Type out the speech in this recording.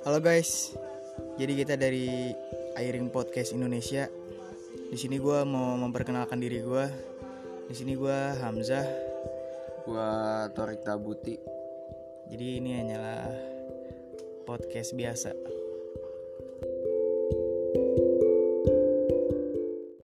Halo guys, jadi kita dari Airing Podcast Indonesia. Di sini gue mau memperkenalkan diri gue. Di sini gue Hamzah. Gua Torik Tabuti. Jadi ini hanyalah podcast biasa.